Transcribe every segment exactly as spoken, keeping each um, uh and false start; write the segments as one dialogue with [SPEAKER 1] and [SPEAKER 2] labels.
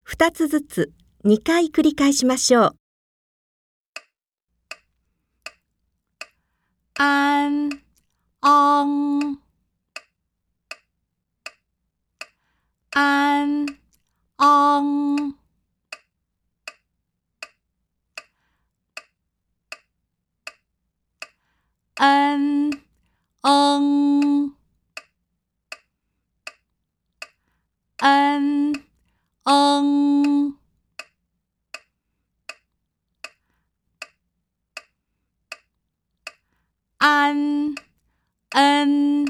[SPEAKER 1] 二つずつにかい繰り返しましょう。
[SPEAKER 2] 安、昂、安、昂、恩、嗯、恩、嗯、安、恩、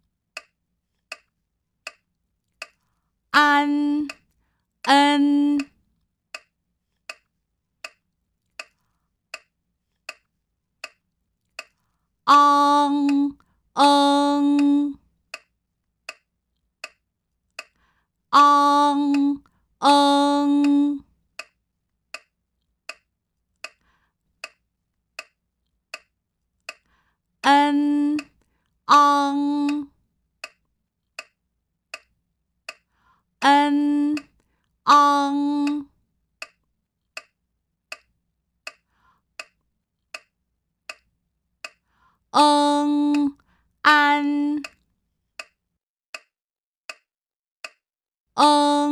[SPEAKER 2] 安、恩、昂、嗯、昂、嗯、恩、昂、恩、昂、嗯、安、嗯。